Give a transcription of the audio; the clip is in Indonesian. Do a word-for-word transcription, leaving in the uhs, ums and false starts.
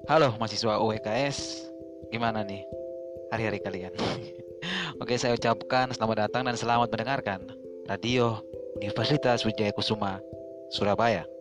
Halo mahasiswa U W K S, gimana nih hari-hari kalian? Oke, saya ucapkan selamat datang dan selamat mendengarkan Radio Universitas Wijaya Kusuma, Surabaya.